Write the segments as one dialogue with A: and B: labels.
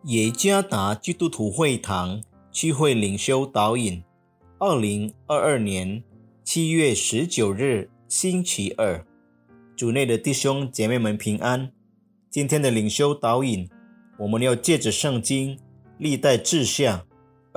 A: 耶加达基督徒会堂聚会领袖导引2022年7月19日星期二，主内的弟兄姐妹们平安。今天的领袖导引，我们要借着圣经历代志下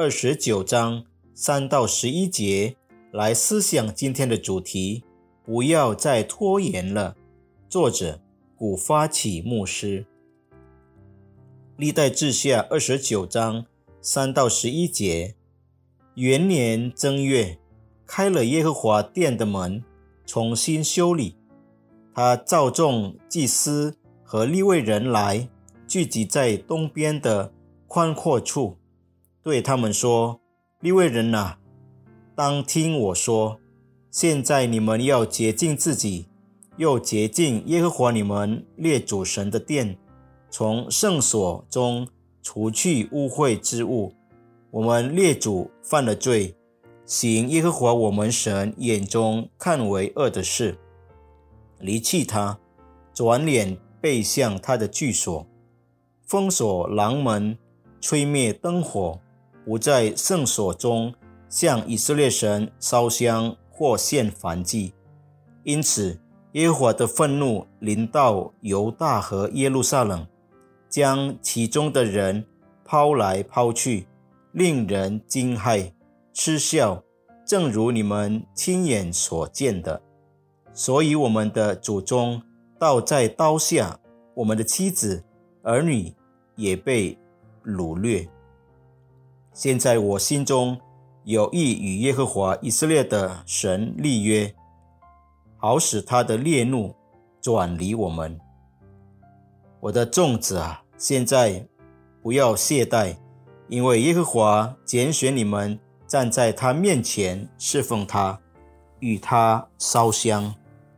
A: 29章3到11节来思想今天的主题，不要再拖延了。作者古发起牧师。历代志下29章3到11节，元年正月，开了耶和华殿的门，重新修理。他召众祭司和利未人来，聚集在东边的宽阔处，对他们说：利未人啊，当听我说，现在你们要洁净自己，又洁净耶和华你们列祖神的殿，从圣所中除去污秽之物。我们列祖犯了罪，行耶和华我们神眼中看为恶的事，离弃他，转脸背向他的居所，封锁廊门，吹灭灯火，不在圣所中向以色列神烧香或献燔祭。因此耶和华的愤怒临到犹大和耶路撒冷，将其中的人抛来抛去，令人惊骇嗤笑，正如你们亲眼所见的。所以我们的祖宗倒在刀下，我们的妻子儿女也被掳掠。现在我心中有意与耶和华以色列的神立约，好使他的烈怒转离我们。我的众子啊，现在不要懈怠，因为耶和华拣选你们站在他面前侍奉他，与他烧香。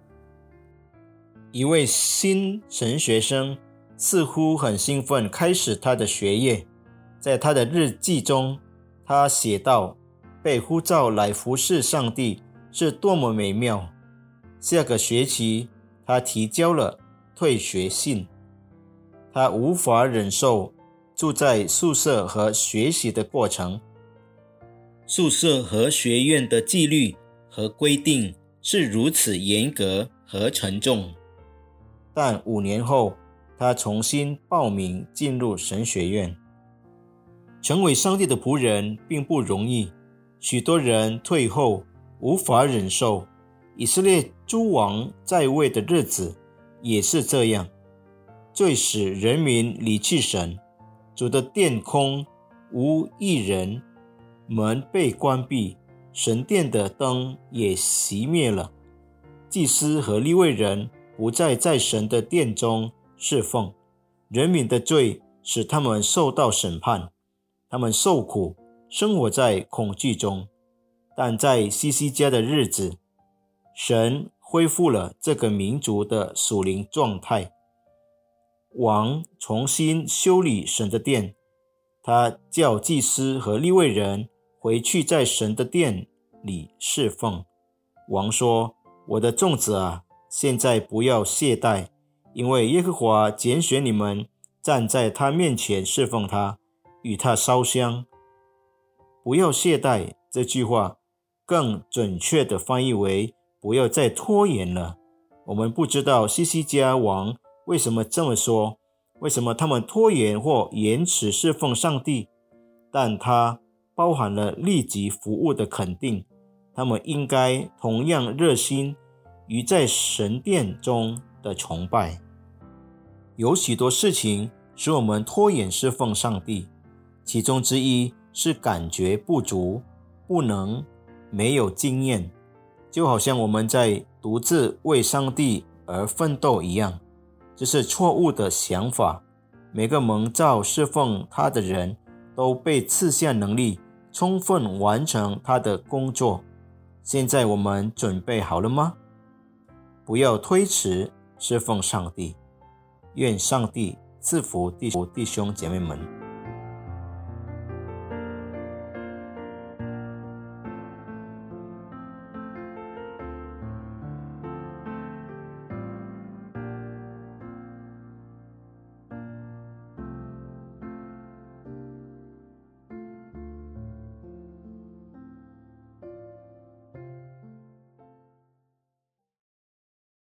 A: 一位新神学生似乎很兴奋开始他的学业，在他的日记中他写道，被呼召来服侍上帝是多么美妙。下个学期他提交了退学信，他无法忍受住在宿舍和学习的过程。宿舍和学院的纪律和规定是如此严格和沉重，但5年后他重新报名进入神学院。成为上帝的仆人并不容易，许多人退后无法忍受。以色列诸王在位的日子也是这样，最使人民离弃神。主的殿空无一人，门被关闭，神殿的灯也熄灭了。祭司和利未人不再在神的殿中侍奉，人民的罪使他们受到审判，他们受苦，生活在恐惧中。但在西西家的日子，神恢复了这个民族的属灵状态。王重新修理神的殿，他叫祭司和利未人回去在神的殿里侍奉。王说：我的众子啊，现在不要懈怠，因为耶和华拣选你们站在他面前侍奉他，与他烧香。不要懈怠这句话更准确地翻译为不要再拖延了。我们不知道西西家王为什么这么说，为什么他们拖延或延迟侍奉上帝，但它包含了立即服务的肯定。他们应该同样热心于在神殿中的崇拜。有许多事情使我们拖延侍奉上帝，其中之一是感觉不足、不能、没有经验，就好像我们在独自为上帝而奋斗一样。这是错误的想法。每个蒙召侍奉他的人都被赐下能力，充分完成他的工作。现在我们准备好了吗？不要推迟侍奉上帝。愿上帝赐福弟兄姐妹们。